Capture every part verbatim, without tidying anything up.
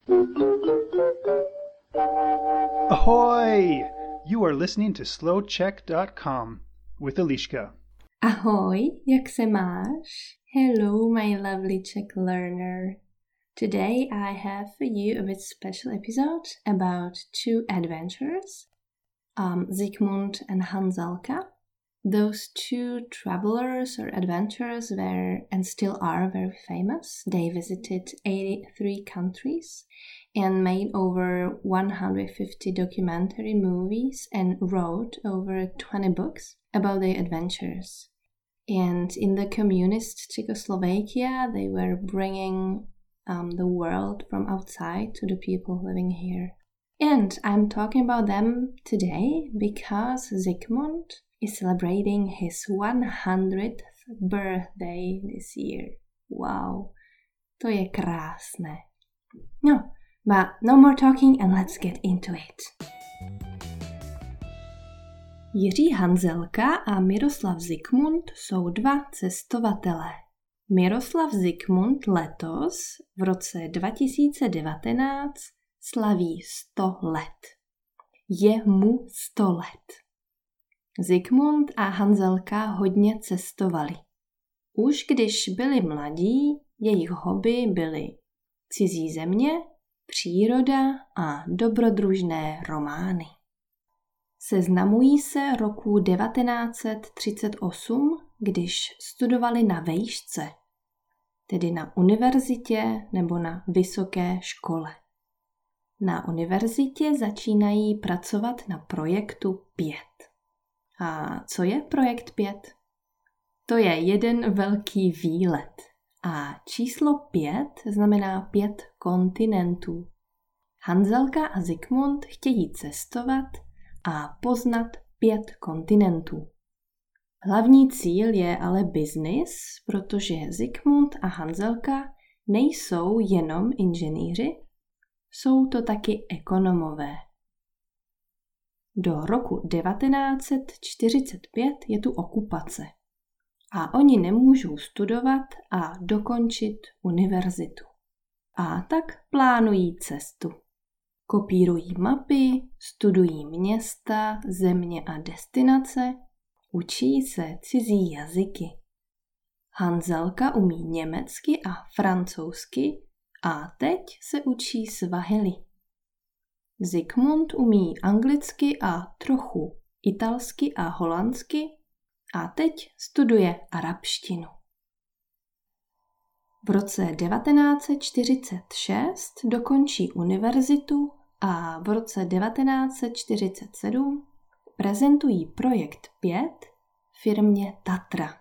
Ahoy! You are listening to slow czech dot com with Eliška. Ahoj, jak se máš? Hello, my lovely Czech learner. Today I have for you a bit special episode about two adventurers, um, Zikmund and Hanzelka. Those two travelers or adventurers were and still are very famous. They visited eighty-three countries and made over one hundred fifty documentary movies and wrote over twenty books about their adventures. And in the communist Czechoslovakia, they were bringing um, the world from outside to the people living here. And I'm talking about them today because Zikmund is celebrating his one hundredth birthday this year. Wow, to je krásné. No, but no more talking and let's get into it. Jiří Hanzelka a Miroslav Zikmund jsou dva cestovatelé. Miroslav Zikmund letos v roce dva tisíce devatenáct slaví sto let. Je mu sto let. Zikmund a Hanzelka hodně cestovali. Už když byli mladí, jejich hobby byly cizí země, příroda a dobrodružné romány. Seznamují se roku devatenáct set třicet osm, když studovali na vejšce, tedy na univerzitě nebo na vysoké škole. Na univerzitě začínají pracovat na projektu pět. A co je projekt pět? To je jeden velký výlet. A číslo pět znamená pět kontinentů. Hanzelka a Zikmund chtějí cestovat a poznat pět kontinentů. Hlavní cíl je ale biznis, protože Zikmund a Hanzelka nejsou jenom inženýři, jsou to taky ekonomové. Do roku devatenáct set čtyřicet pět je tu okupace a oni nemůžou studovat a dokončit univerzitu. A tak plánují cestu. Kopírují mapy, studují města, země a destinace, učí se cizí jazyky. Hanzelka umí německy a francouzsky a teď se učí svahili. Zikmund umí anglicky a trochu italsky a holandsky a teď studuje arabštinu. V roce devatenáct set čtyřicet šest dokončí univerzitu a v roce devatenáct set čtyřicet sedm prezentují projekt pět firmě Tatra.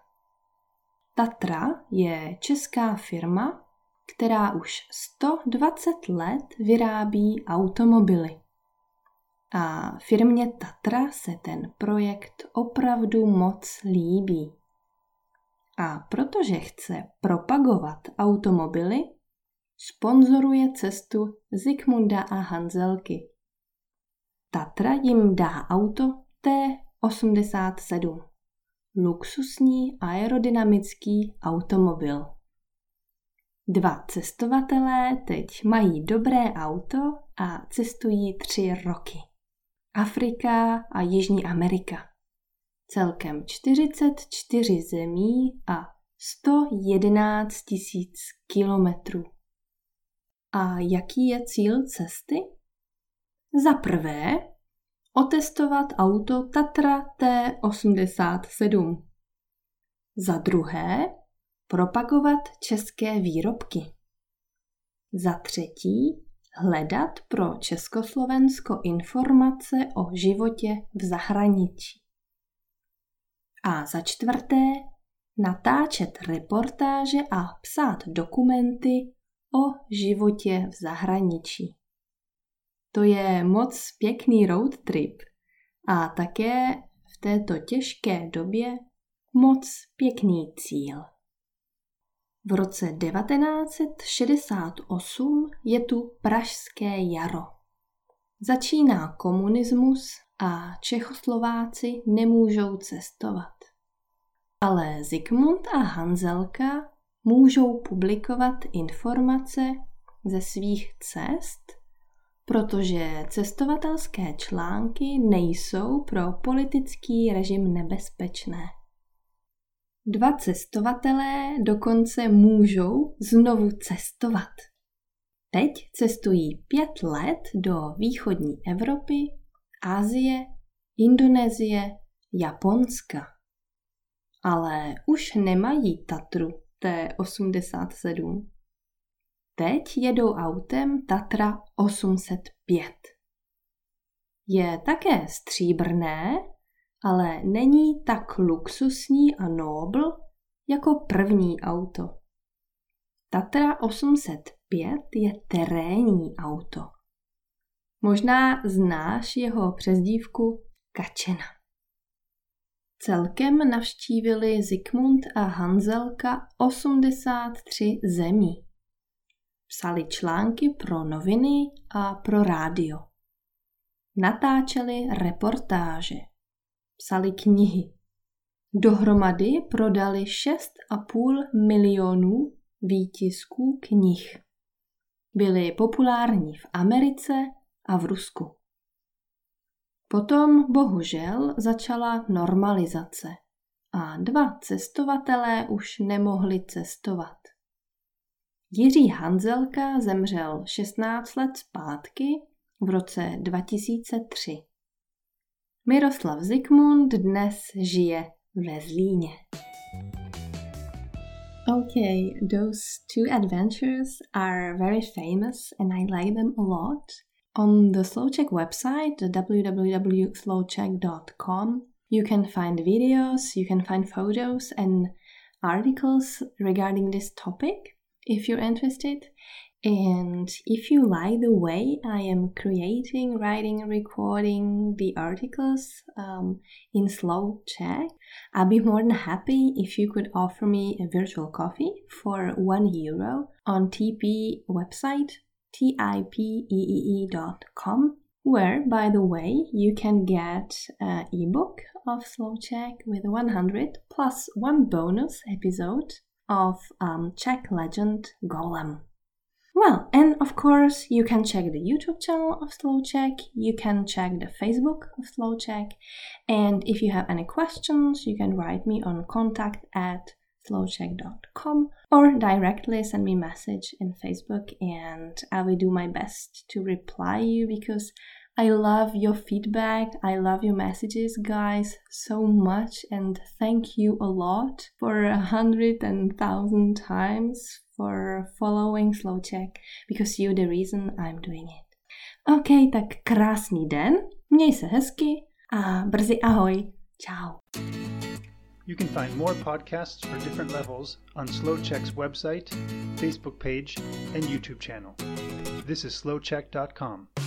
Tatra je česká firma, která už sto dvacet let vyrábí automobily. A firmě Tatra se ten projekt opravdu moc líbí. A protože chce propagovat automobily, sponzoruje cestu Zikmunda a Hanzelky. Tatra jim dá auto T osmdesát sedm, luxusní aerodynamický automobil. Dva cestovatelé teď mají dobré auto a cestují tři roky. Afrika a Jižní Amerika. Celkem čtyřicet čtyři zemí a sto jedenáct tisíc kilometrů. A jaký je cíl cesty? Za prvé, otestovat auto Tatra T osmdesát sedm. Za druhé, propagovat české výrobky. Za třetí, hledat pro Československo informace o životě v zahraničí. A za čtvrté, natáčet reportáže a psát dokumenty o životě v zahraničí. To je moc pěkný road trip a také v této těžké době moc pěkný cíl. V roce devatenáct set šedesát osm je tu Pražské jaro. Začíná komunismus a Čechoslováci nemůžou cestovat. Ale Zikmund a Hanzelka můžou publikovat informace ze svých cest, protože cestovatelské články nejsou pro politický režim nebezpečné. Dva cestovatelé dokonce můžou znovu cestovat. Teď cestují pět let do východní Evropy, Asie, Indonésie, Japonska. Ale už nemají Tatru T osmdesát sedm. Teď jedou autem Tatra osm set pět. Je také stříbrné, ale není tak luxusní a nobl jako první auto. Tatra osm set pět je terénní auto. Možná znáš jeho přezdívku Kačena. Celkem navštívili Zikmund a Hanzelka osmdesát tři zemí. Psali články pro noviny a pro rádio. Natáčeli reportáže. Psali knihy. Dohromady prodali šest a půl milionů výtisků knih. Byli populární v Americe a v Rusku. Potom bohužel začala normalizace a dva cestovatelé už nemohli cestovat. Jiří Hanzelka zemřel šestnáct let zpátky v roce dva tisíce tři. Miroslav Zikmund dnes žije ve Zlíně. Okay, those two adventures are very famous and I like them a lot. On the SlowCheck website, the w w w dot slow check dot com, you can find videos, you can find photos and articles regarding this topic if you're interested. And if you like the way I am creating, writing, recording the articles um, in SlowCheck, I'd be more than happy if you could offer me a virtual coffee for one euro on T P website, T I P E E E dot com, where, by the way, you can get an ebook of SlowCheck with one hundred plus one bonus episode of um, Czech legend Golem. Well, and of course, you can check the YouTube channel of SlowCheck, you can check the Facebook of SlowCheck, and if you have any questions, you can write me on contact at slowcheck dot com or directly send me a message in Facebook and I will do my best to reply you because I love your feedback, I love your messages, guys, so much, and thank you a lot for a hundred and thousand times for following SlowCheck, because you're the reason I'm doing it. Ok, tak krásný den, měj se hezky a brzy ahoj. Ciao. You can find more podcasts for different levels on SlowCheck's website, Facebook page, and YouTube channel. This is slowcheck dot com.